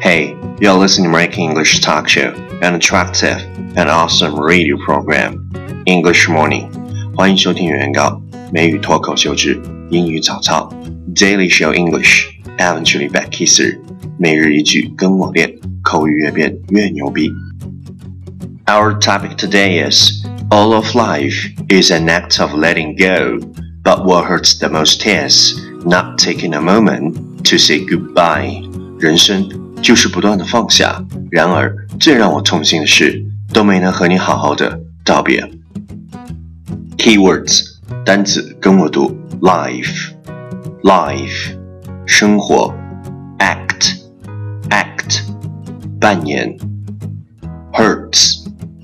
Hey, you're listening to American English talk show, an attractive and awesome radio program, English Morning. 欢迎收听原稿美语脱口秀之英语早操 Daily Show English, eventually back kisser. 每日一句跟我练，口语越变越牛逼。Our topic today is, all of life is an act of letting go, but what hurts the most is not taking a moment to say goodbye. 人生就是不断的放下，然而最让我痛心的是，都没能和你好好的道别。Keywords 单词跟我读 life 生活 act 扮演 hurts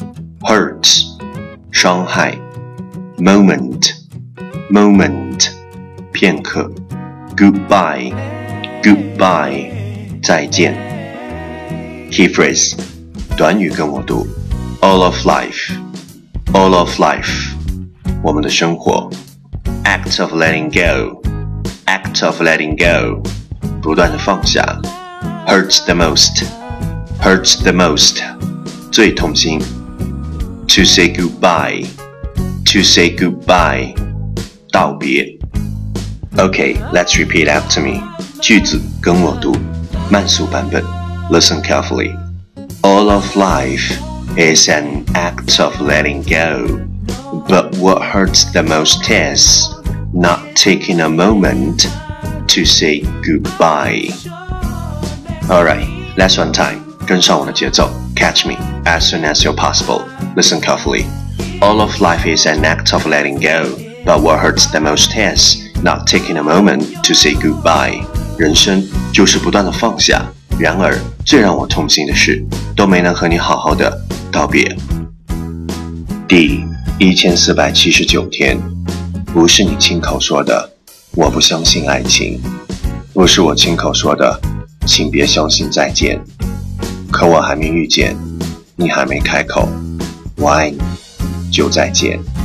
伤害 moment 片刻 goodbye 再见。Key phrase 短语跟我读 all of life 我们的生活 act of letting go 不断的放下 hurts the most 最痛心 to say goodbye 道别。 Okay, let's repeat after me. 句子跟我读慢速版本 Listen carefully. All of life is an act of letting go, but what hurts the most is not taking a moment to say goodbye. Alright, last one time. 跟上我的节奏 Catch me as soon as you're possible. Listen carefully. All of life is an act of letting go, but what hurts the most is not taking a moment to say goodbye. 人生就是不断的放下，然而最让我痛心的是，都没能和你好好的道别。第1479天，不是你亲口说的，我不相信爱情；不是我亲口说的，请别相信再见。可我还没遇见，你还没开口，我爱你，就再见。